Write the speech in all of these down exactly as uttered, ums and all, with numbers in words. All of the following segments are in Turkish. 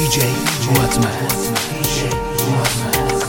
J Muratmaz. D J Muratmaz.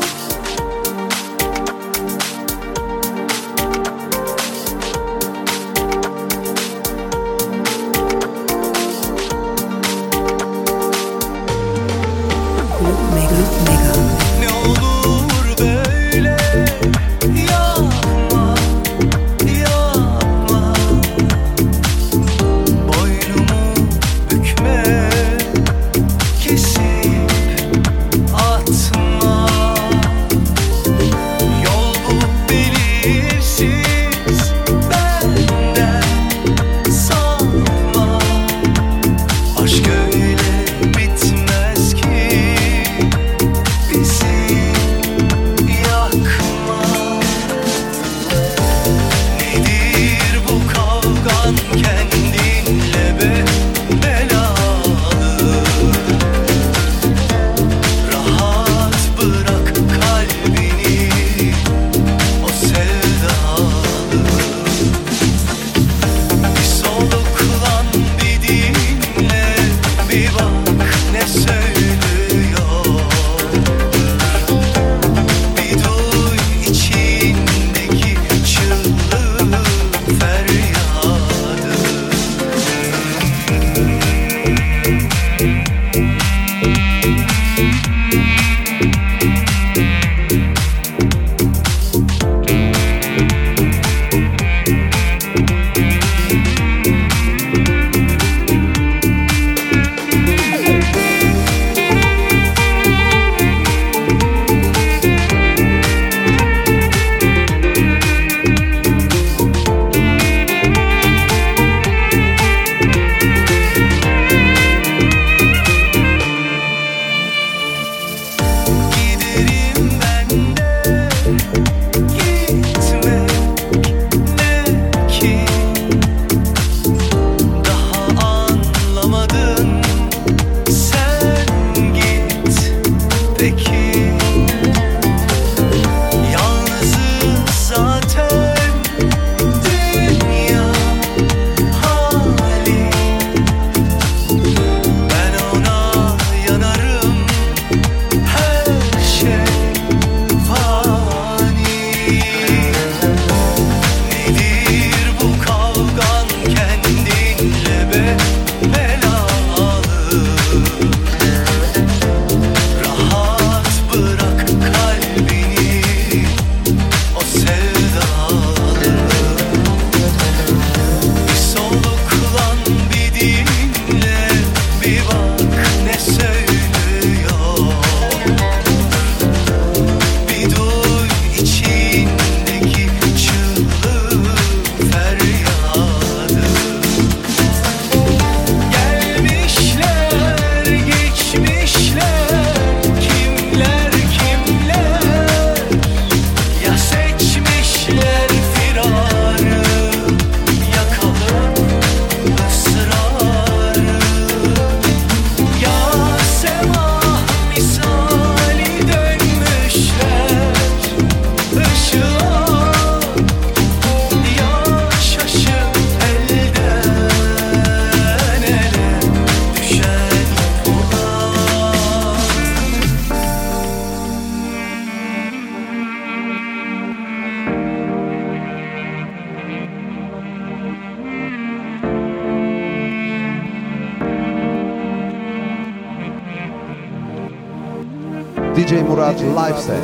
D J Murat Live Set.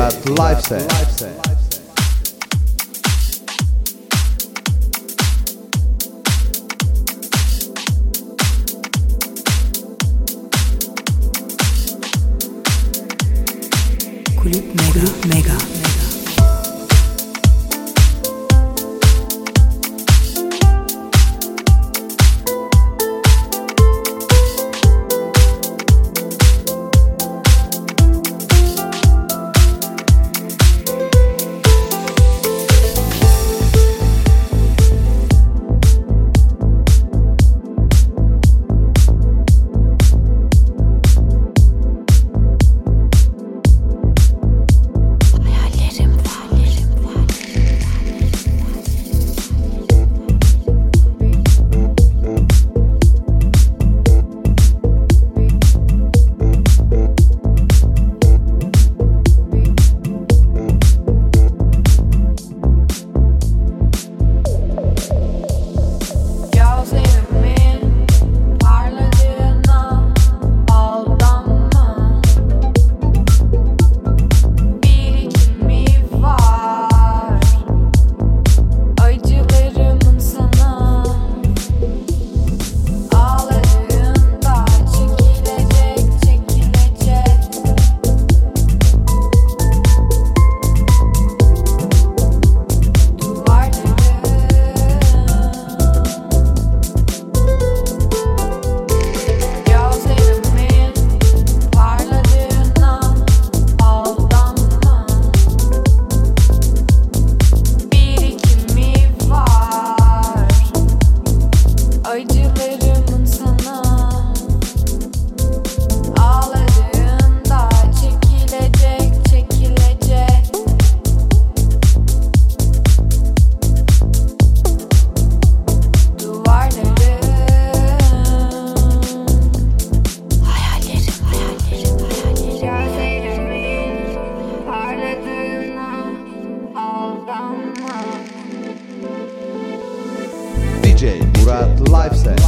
Murat Live Set. Kulüp Mega, Mega. D J Murat Live Set.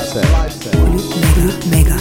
Lifestyle. Kulüp Mega.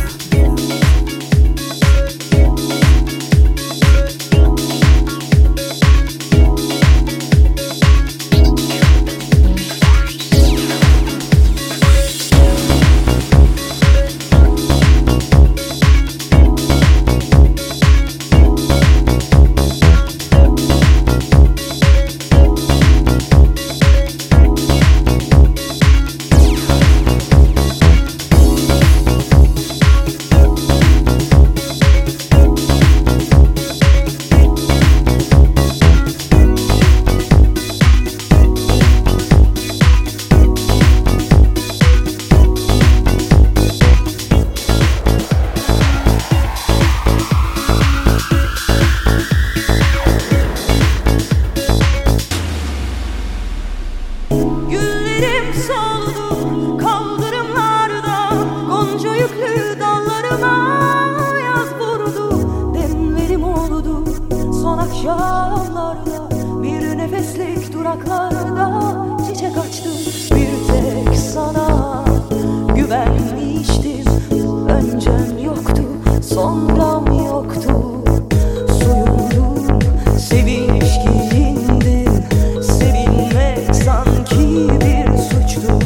Güllerim soldu kaldırımlarda, gonca yüklü dallarıma yaz vurdu. Demlerim oldu son akşamlarda, bir nefeslik duraklarda çiçek açtım. Bir tek sana güvenmiştim, öncem yoktu, sonram yoktu. Soyundum, sevinç giyindim, sevinmek sanki bir suçtu.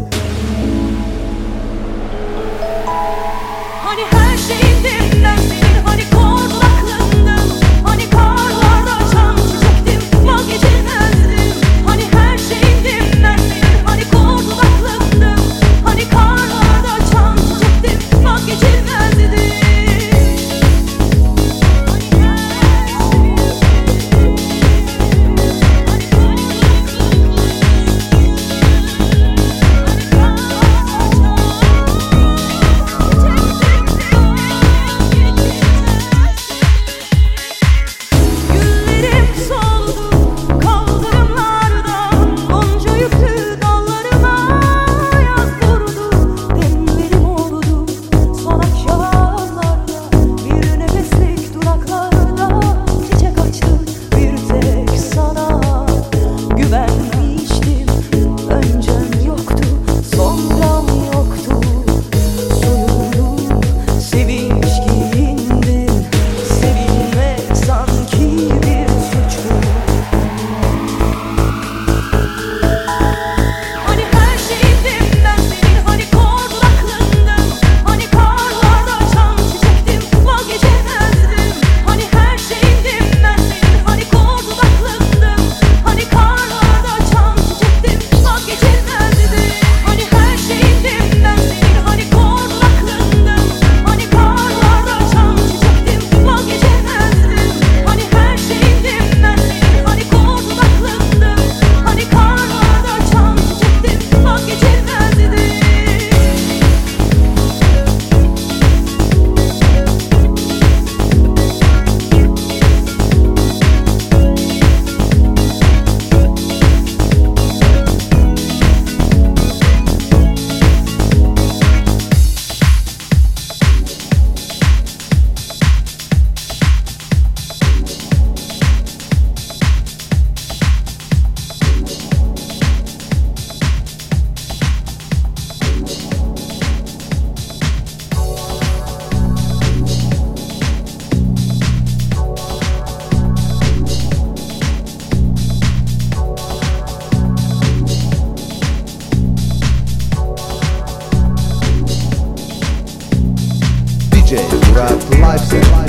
Hani her şeyindim ben senin, hani kordun aklındım, hani karlarda çam çiçektim, vazgeçilmezdim. Hani her şeyindim ben senin, hani kordun aklındım, hani karlarda çam çiçektim, vazgeçilmezdim. Güllerim soldu kaldırımlarda, gonca yüklü dallarıma yaz vurdu. Demlerim oldu son akşamlarda, bir nefeslik duraklarda çiçek açtım. Bir tek sana güvenmiştim, öncem yoktu, sonram yoktu. Soyundum, sevinç giyindim, sevinmek sanki bir suçtu. Hani her şeyindim ben senin, hani kordun aklındım, hani karlarda çam çiçektim, vazgeçemezdim. Hani her şeyindim ben senin, hani kordun aklındım, hani karlarda çam çiçektim, vazgeçemezdim. Hani her şeyindim ben senin, hani kordun aklındım, hani karlarda çam çiçektim, vazgeçemezdim. Hani her şeyindim ben senin, hani kordun aklındım, hani karlarda çam çiçektim, vazgeçemezdim. D J Murat Lifestyle.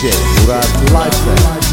D J Murat Lifestyle.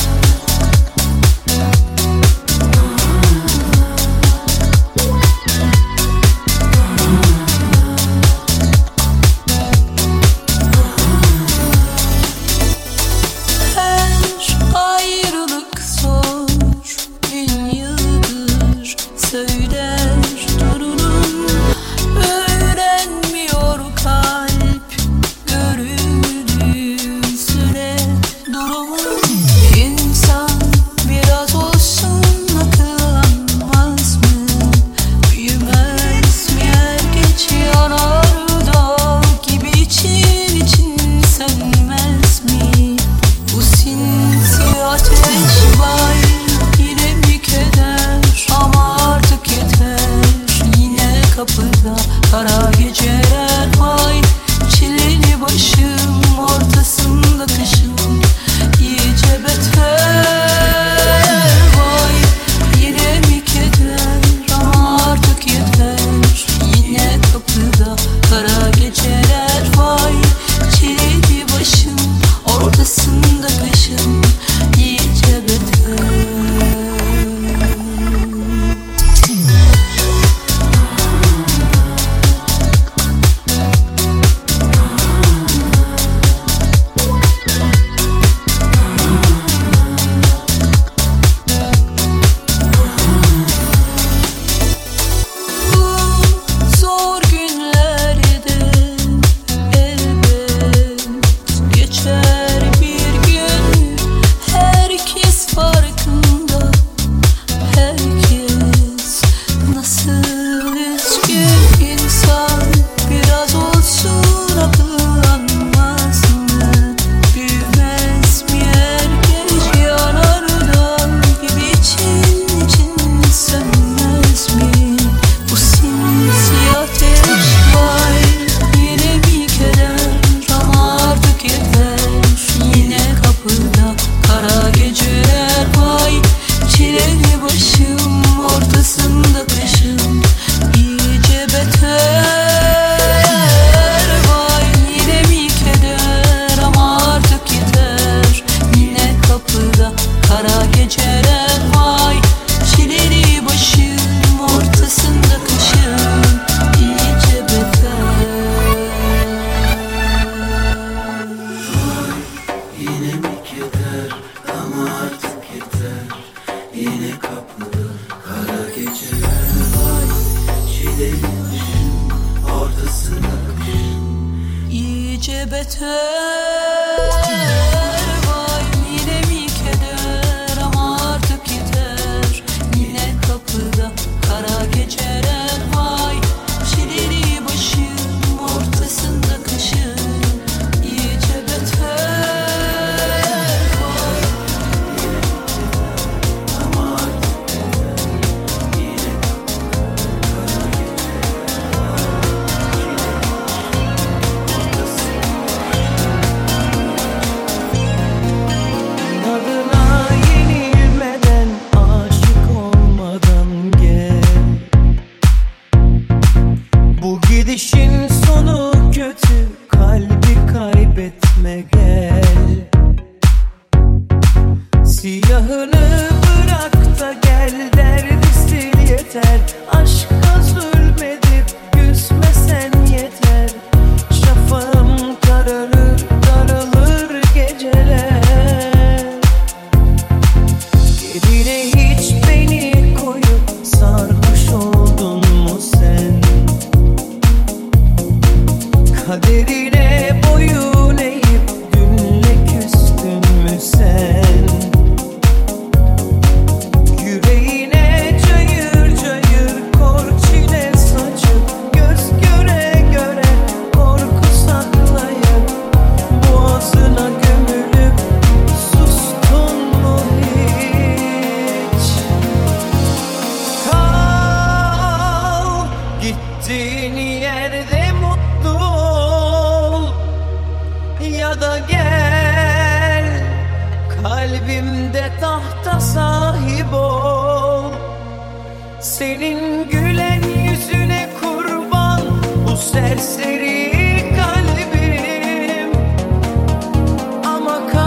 Senin gülen yüzüne kurban bu serseri kalbim. Ama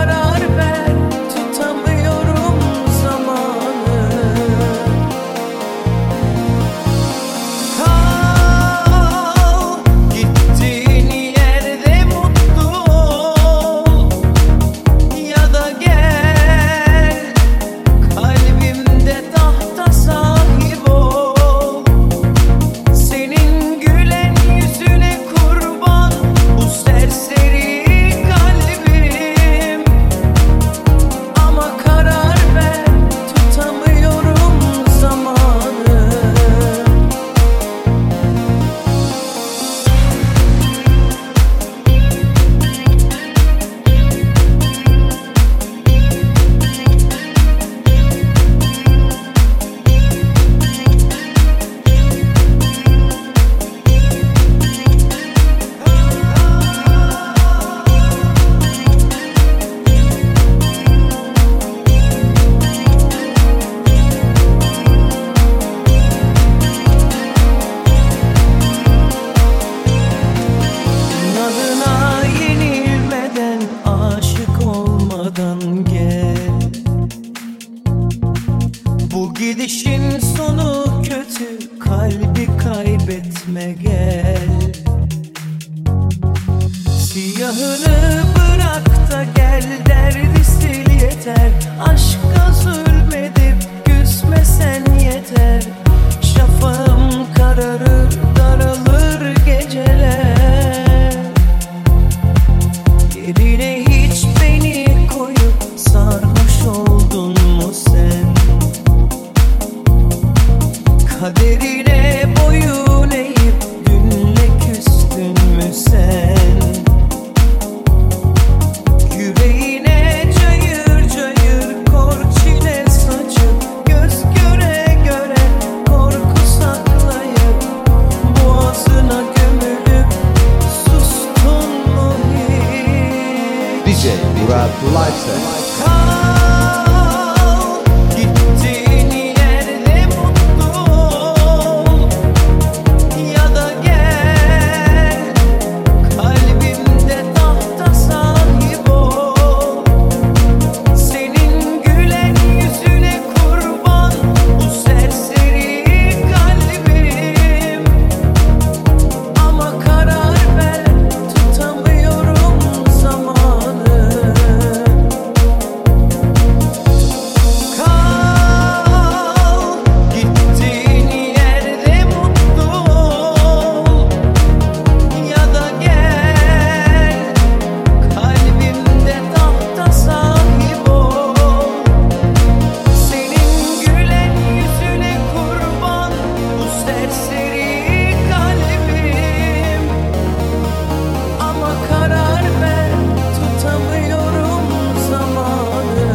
arkamdan gel. Bu gidişin sonu kötü, kalbi kaybetme gel. Siyahını bırak da gel, derdi sil yeter. Aşka zulmedip küsmesen yeter. Şafağım kararır, daralır geceler. Yerine hiç beni koyup sarhoş oldun mu sen? Kaderine boyun eğip dünle küstün mü sen? Yüreğine cayır cayır kor çile saçıp, göz göre göre korku saklayıp, boğazına gömülüp sustun mu hiç? D J Murat Lifestyle. Kal, gittiğin yerde mutlu ol, ya da gel, kalbimde tahta sahip ol. Senin gülen yüzüne kurban bu serseri kalbim. Ama karar ver, tutamıyorum zamanı. Kal, gittiğin yerde mutlu ol, ya da gel, kalbimde tahta sahip ol. Senin gülen yüzüne kurban bu serseri kalbim. Ama karar ver, tutamıyorum zamanı.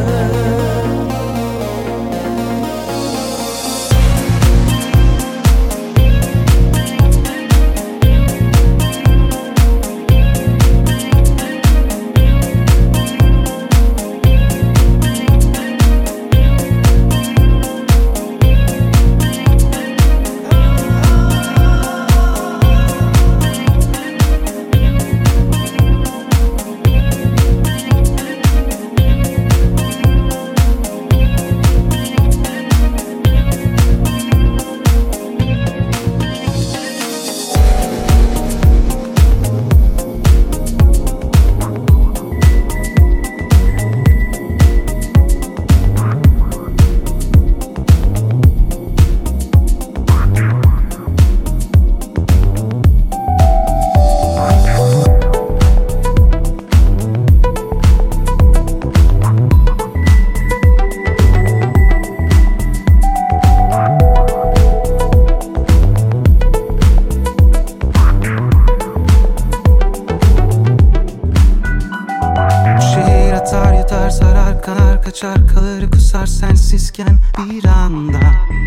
Şehir atar yutar sarar kanar kaçar kalır kusar sensizken bir anda.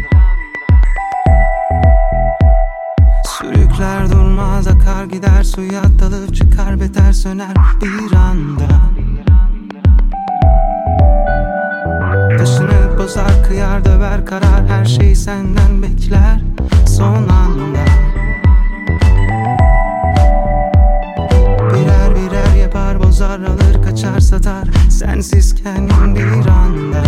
Sürükler durmaz akar gider suya dalıp çıkar beter söner bir anda. Taşını bozar kıyar döver karar her şey senden bekler son anda. Birer birer yapar bozar alır kaçar satar sensizken bir anda.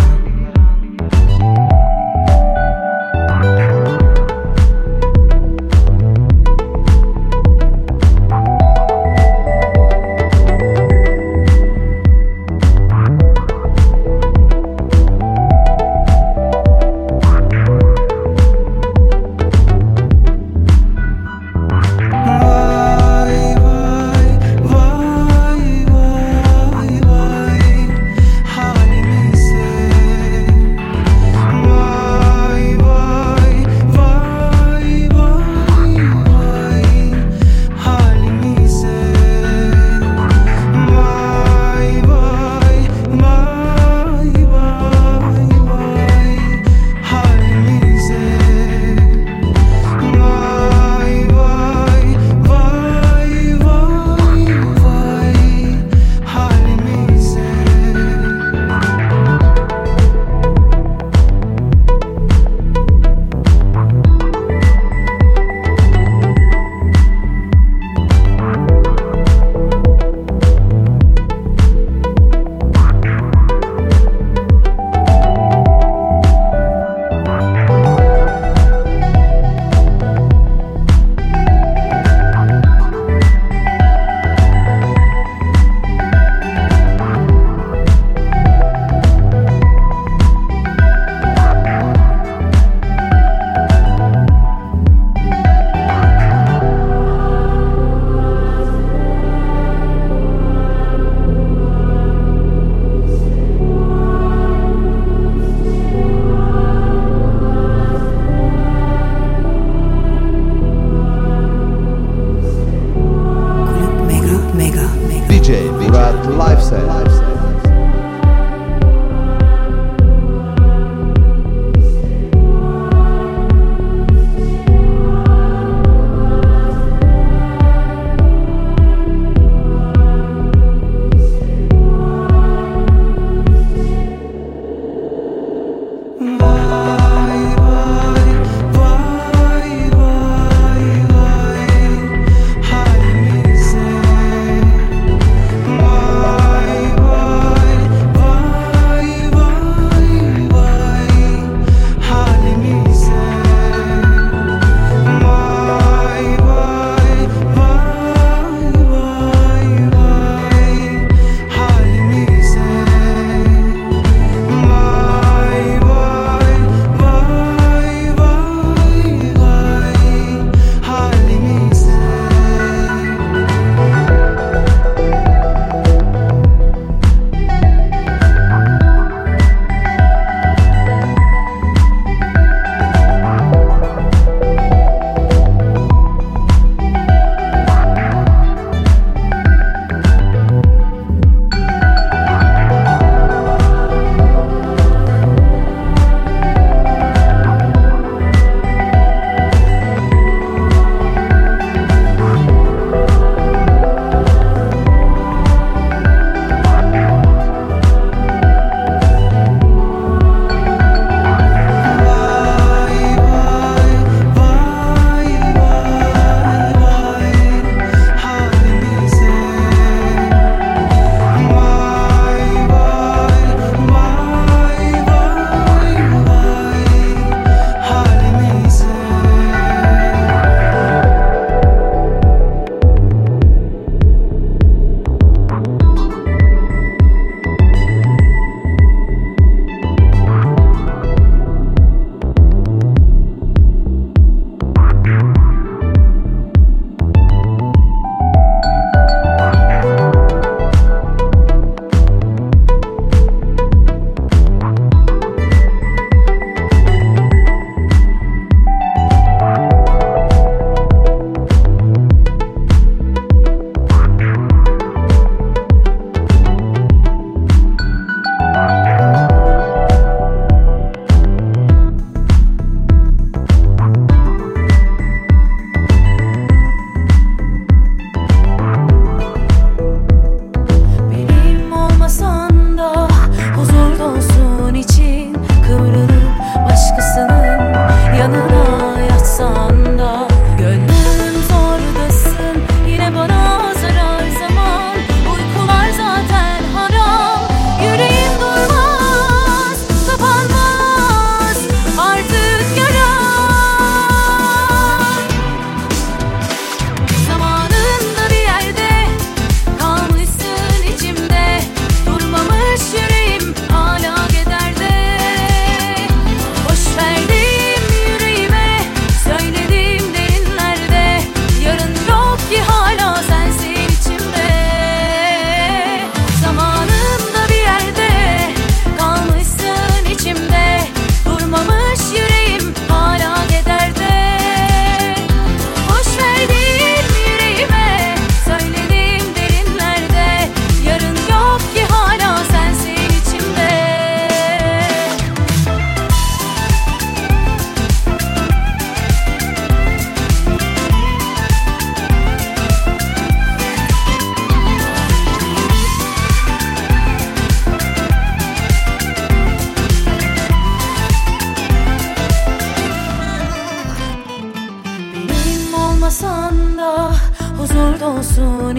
Vay vay vay vay vay halimize.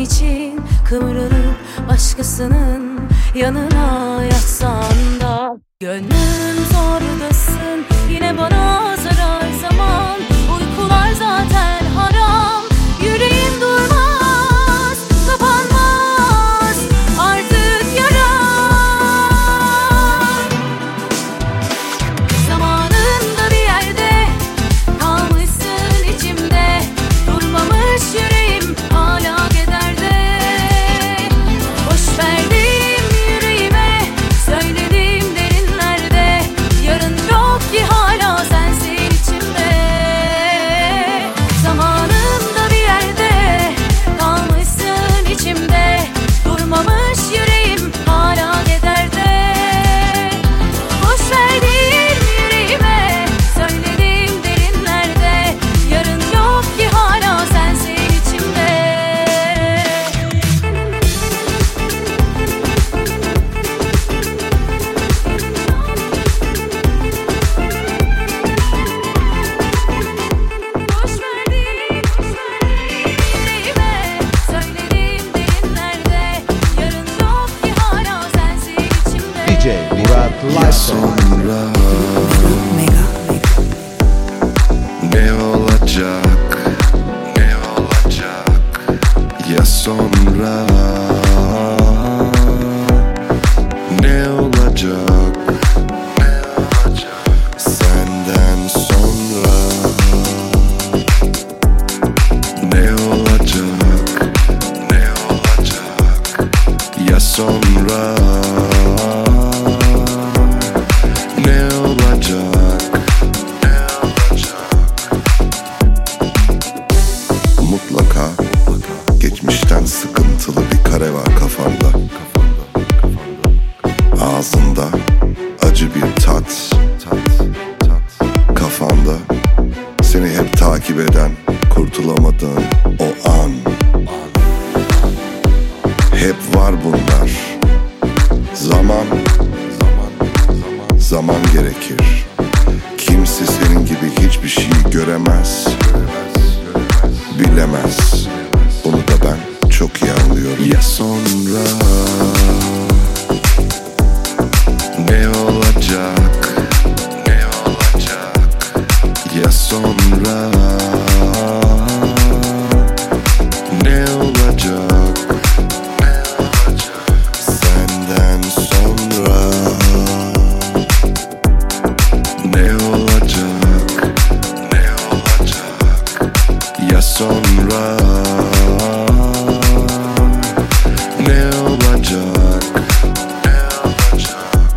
için kıvrılıp başkasının yanına yatsan da gönlüm zordasın, yine bana zarar zaman. Uykular zaten haram, yüreğim durmaz, kapanmaz artık yaram. Zamanında bir yerde kalmışsın içimde, durmamış yüreğim hala kederde. Boş verdim yüreğime, söyledim derinlerde, yarın yok ki hala sensin içimde. Zamanında bir yerde kalmışsın içimde, durmamış yüreğim hala kederde. Boş verdim yüreğime, söyledim derinlerde, yarın yok ki hala sensin içimde. Boş verdim, boş verdim yüreğime, söyledim derinlerde, yarın yok ki hala sensin içimde. D J Murat Lifestyle. Sonra Mega. ne olacak, ne olacak ya sonra, ne olacak, ne olacak senden sonra, ne olacak, ne olacak ya sonra, ne olacak, ne olacak. Mutlaka geçmişten sıkıntılı bir kare var kafanda. Ağzında acı bir tat. Kafanda seni hep takip eden, kurtulamadığın o an. Hep var bunlar. Zaman, zaman, zaman gerekir. Kimse senin gibi hiçbir şeyi göremez, bilemez. Bunu da ben çok iyi anlıyorum. Ya sonra ne olacak, ne olacak ya sonra, ne olacak, ne olacak senden sonra, ne olacak, ne olacak ya sonra, ne olacak, ne olacak.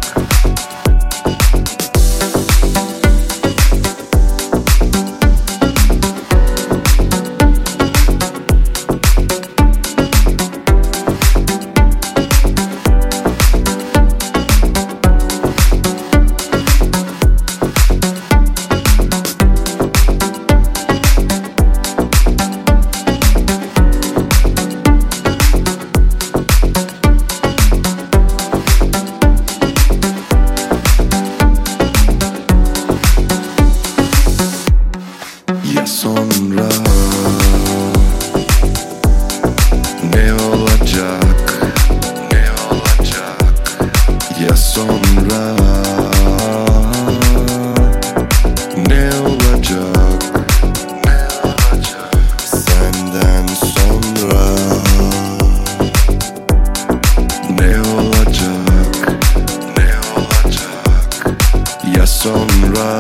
Ya sonra ne olacak, ne olacak ya sonra, ne olacak, ne olacak senden sonra, ne olacak, ne olacak ya sonra,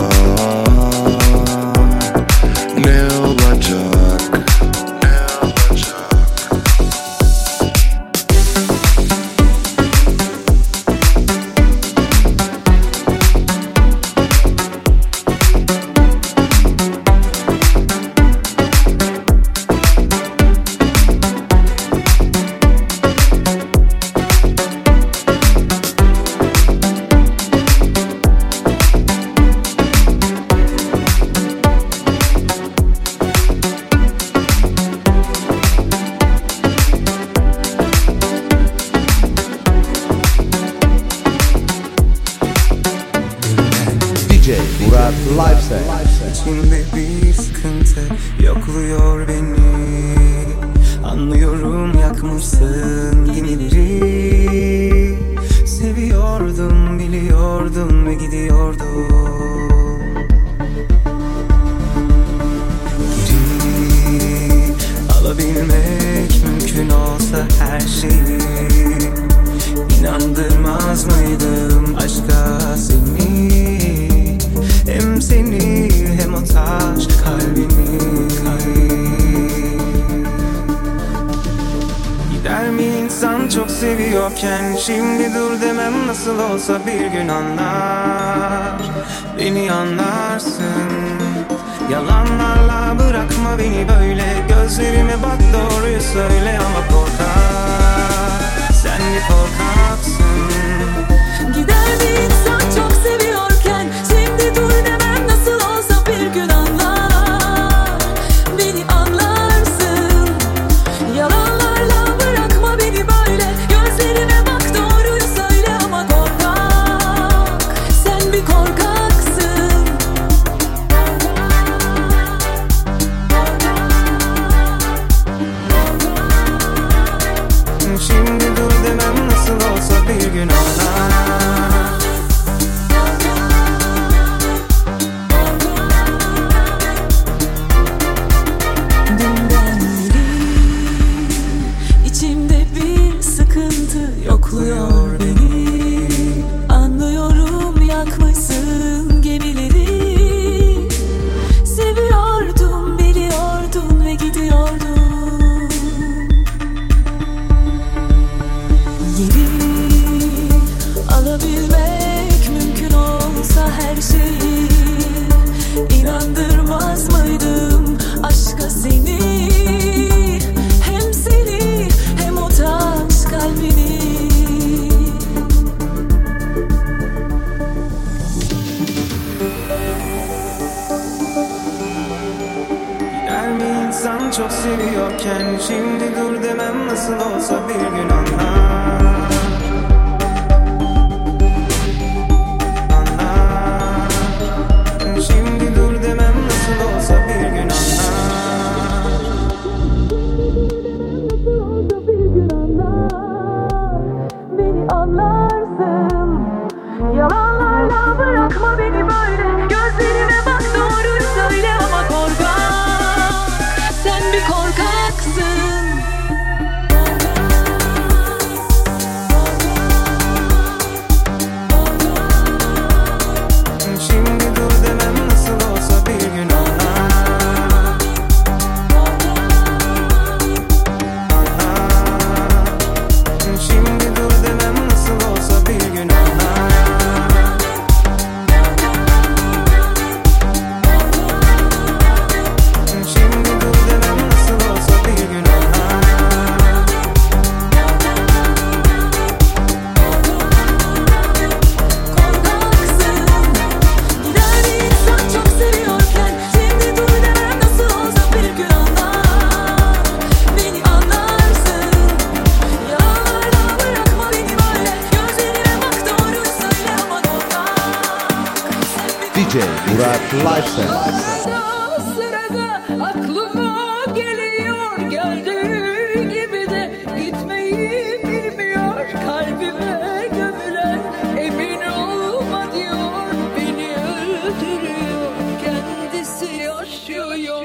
ne olacak, ne olacak. Murat Lifestyle. İçimde bir sıkıntı yokluyor beni. Anlıyorum yakmışsın gemileri. Seviyordum biliyordum ve gidiyordum. Geri alabilmek mümkün olsa her şeyi, İnandırmaz mıydım aşka seni? Hem seni hem o taş kalbini. Gider mi insan çok seviyorken? Şimdi dur demem nasıl olsa bir gün anlar. Beni anlarsın. Yalanlarla bırakma beni böyle. Gözlerime bak doğruyu söyle ama korkar. Sen bir korkaksın. Gider bir insan çok seviyorken, şimdi dur demem nasıl olsa bir gün anlar. Beni anlarsın. Yalanlarla bırakma beni böyle. Gözlerime bak doğruyu söyle ama korkak. Sen bir korkaksın. Şimdi dur demem nasıl olsa bir gün anlar. Dünden beri içimde bir sıkıntı yokluyor beni. Anlıyorum yakmışsın gemileri. Seviyordum biliyordun ve gidiyordun. Geri alabilmek mümkün olsa her şeyi, İnandırmaz mıydım aşka seni? Hem seni hem o taş kalbini. Gider mi insan çok seviyorken? Şimdi dur demem nasıl olsa bir gün anlar. Anlar. Şimdi dur demem nasıl olsa bir gün anlar. Beni anlarsın. Yalanlarla bırakma beni böyle. Gözlerime bak doğruyu söyle ama korkak. Sen bir korkaksın. Şimdi dur demem nasıl olsa bir gün anlar. Anlar. Şimdi dur demem nasıl olsa bir gün anlar. Şimdi dur demem nasıl olsa bir gün anlar. Korkaksın. Gider bir insan çok seviyorken, şimdi dur demem nasıl olsa bir gün anlar. Beni anlarsın. Yalanlarla bırakma beni böyle. Gözlerime bak doğruyu söyle ama korkak. Sen bir D J Burak Lifestyle. sırada aklıma geliyor, geldiği gibi de gitmeyi bilmiyor. Kalbime gömülen emin olma diyor, beni öldürüyor, kendisi yaşıyor.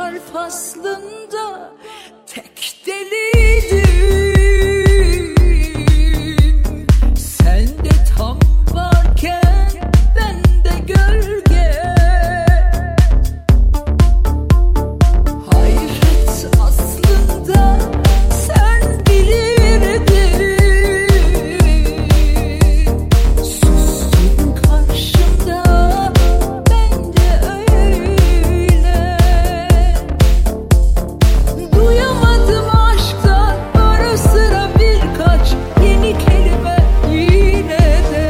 harf aslında tek deliydim. Sen de tam varken ben de gölge. Hayret aslında sen bilirdin. Sustun karşımda ben de öyle. Duyamadım aşktan ara sıra birkaç yeni kelime yine de.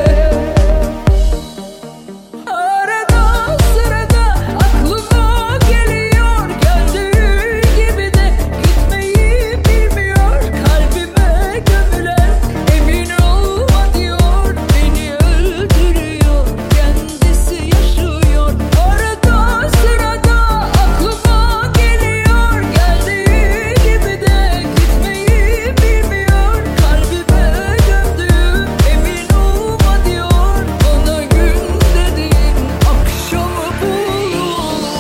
Arada sırada aklıma geliyor, geldiği gibi de gitmeyi bilmiyor. Kalbime gömülen emin olma diyor, beni öldürüyor, kendisi yaşıyor. Arada sırada aklıma geliyor, geldiği gibi de gitmeyi bilmiyor. Kalbime gömdüğüm emin olma diyor, bana gün dediğin akşamı buluyor.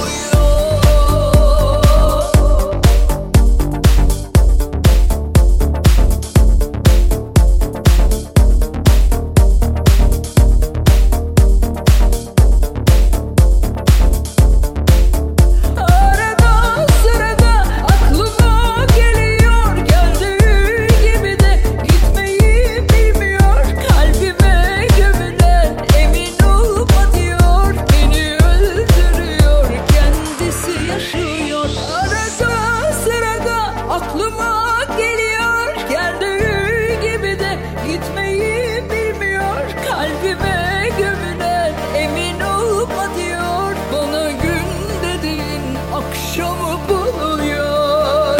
Arada sırada aklıma geliyor, geldiği gibi de gitmeyi bilmiyor. Kalbime gömülen emin olma diyor, beni öldürüyor, kendisi yaşıyor. Arada sırada aklıma geliyor, geldiği gibi de gitmeyi bilmiyor. Kalbime gömülen emin olma diyor, bana gün dediğin akşamı buluyor.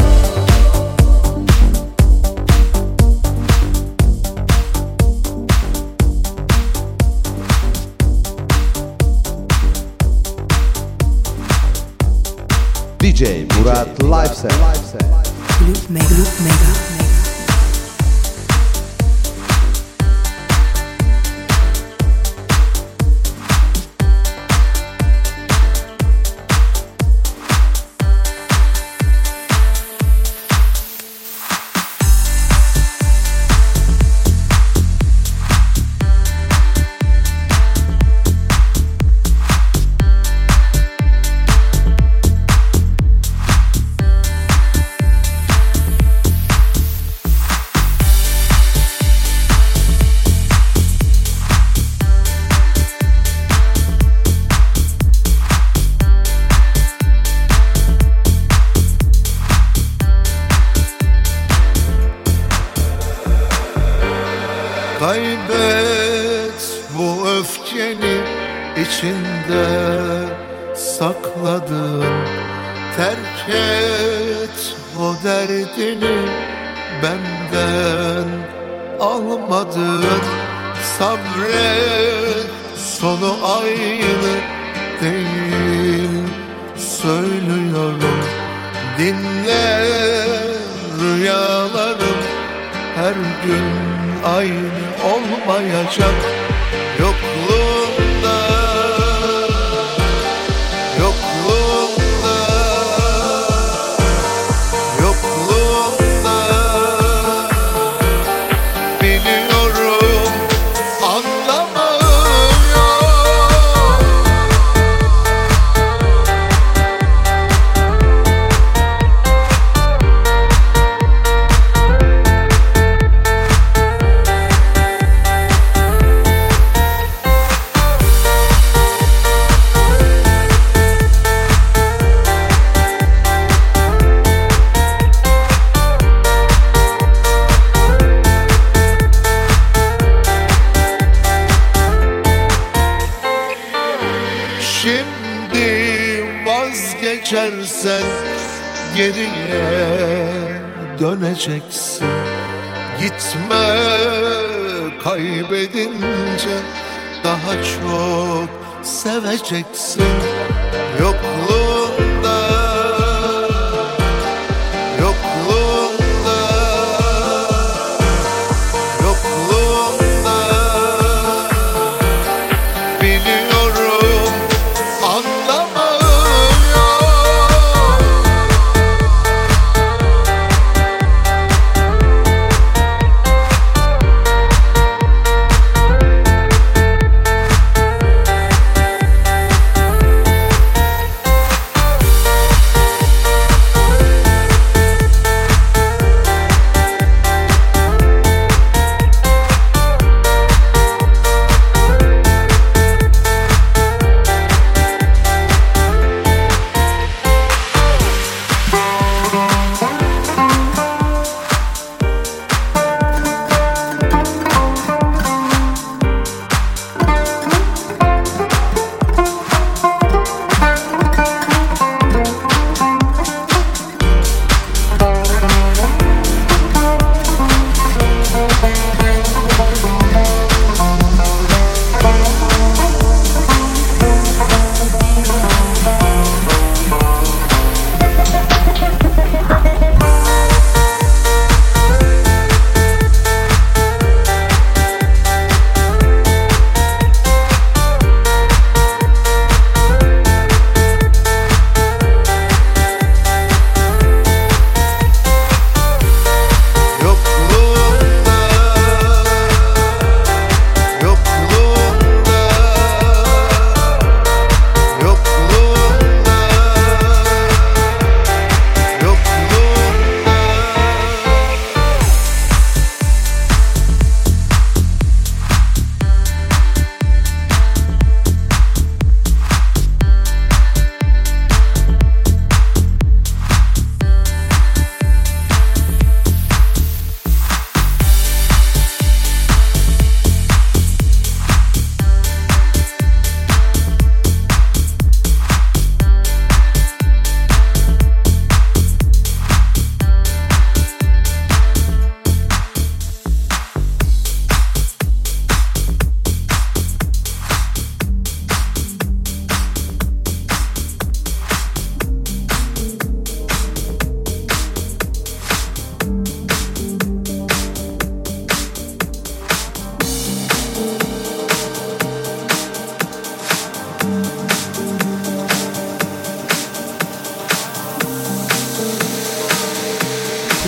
D J Murat Live Set. Club Mega. Club Mega. Kaybet bu öfkeni içinde sakladın. Terk et o derdini benden almadın. Sabret, sonu aynı değil söylüyorum. Dinle, rüyalarım her gün aynı olmayacak. Yokluğunda, yokluğunda, yokluğunda biliyorum anlamıyorum. Şimdi vazgeçersen geriye döneceksin. Gitme, kaybedince daha çok seveceksin. Yokluğunda, yokluğunda, yokluğunda biliyorum anlamıyorum.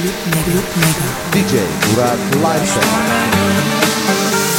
Group Mega. D J Murat Lifestyle.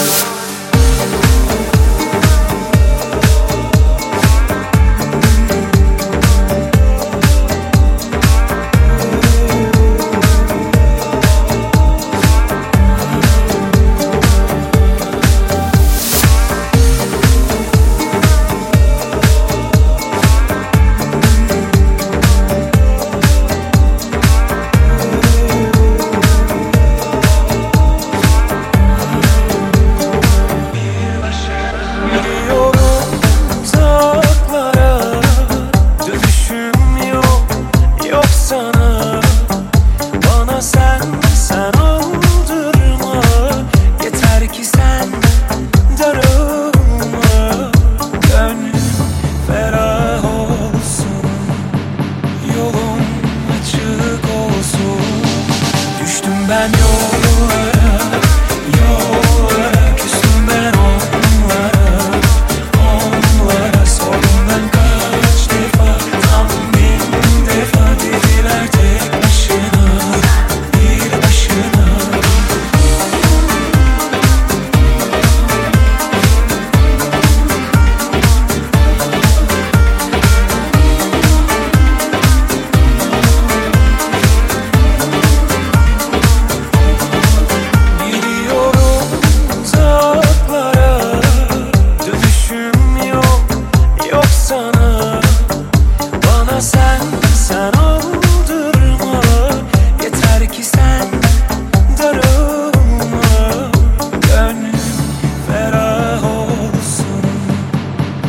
Ben yollara, yollara küstüm ben onlara, onlara sordum ben kaç defa, tam bin defa dediler tek başına, bir başına.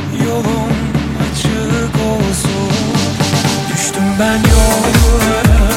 Ben yollara